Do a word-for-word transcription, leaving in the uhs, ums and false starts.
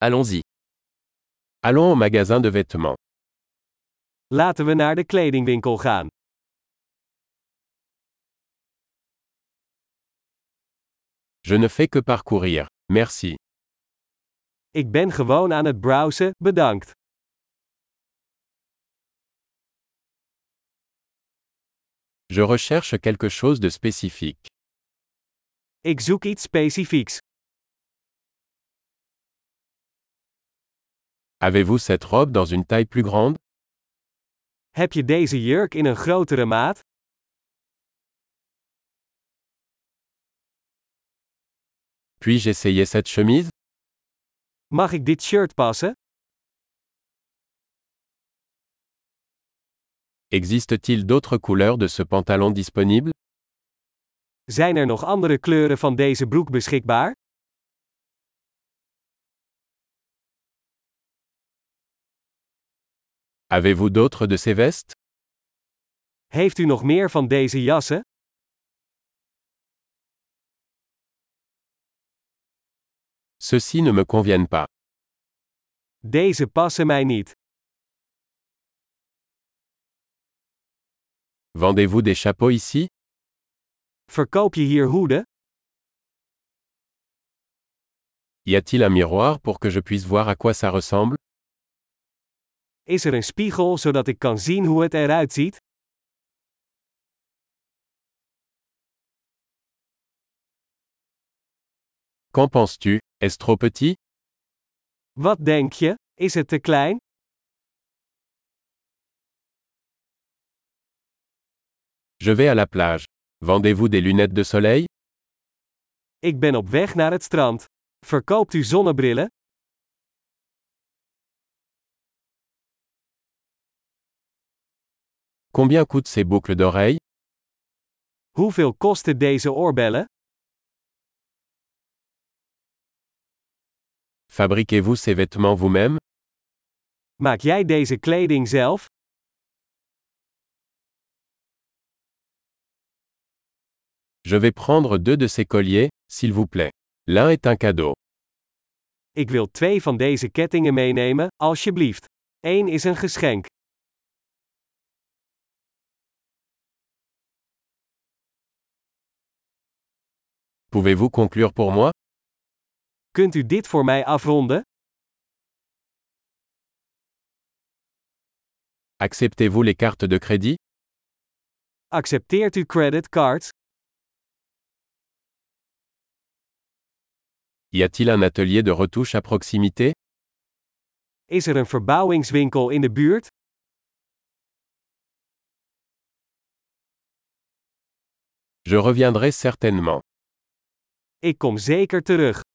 Allons-y. Allons au magasin de vêtements. Laten we naar de kledingwinkel gaan. Je ne fais que parcourir. Merci. Ik ben gewoon aan het browsen, bedankt. Je recherche quelque chose de spécifique. Ik zoek iets specifieks. Avez-vous cette robe dans une taille plus grande? Heb je deze jurk in een grotere maat? Puis-je essayer cette chemise? Mag ik dit shirt passen? Existe-t-il d'autres couleurs de ce pantalon disponibles? Zijn er nog andere kleuren van deze broek beschikbaar? Avez-vous d'autres de ces vestes? Heeft u nog meer van deze jassen? Ceux-ci ne me conviennent pas. Deze passen mij niet. Vendez-vous des chapeaux ici? Verkoop je hier hoeden? Y a-t-il un miroir pour que je puisse voir à quoi ça ressemble? Is er een spiegel zodat ik kan zien hoe het eruit ziet? Qu'en penses-tu? Est-ce trop petit? Wat denk je? Is het te klein? Je vais à la plage. Vendez-vous des lunettes de soleil? Ik ben op weg naar het strand. Verkoopt u zonnebrillen? Combien coûtent ces boucles d'oreilles? Hoeveel kosten deze oorbellen? Fabriquez-vous ces vêtements vous-même? Maak jij deze kleding zelf? Je vais prendre deux de ces colliers, s'il vous plaît. L'un est un cadeau. Ik wil twee van deze kettingen meenemen, alsjeblieft. Eén is een geschenk. Pouvez-vous conclure pour moi? Kunt u dit voor mij afronden? Acceptez-vous les cartes de crédit? Accepteert u creditcards? Y a-t-il un atelier de retouche à proximité? Is er een verbouwingswinkel in de buurt? Je reviendrai certainement. Ik kom zeker terug.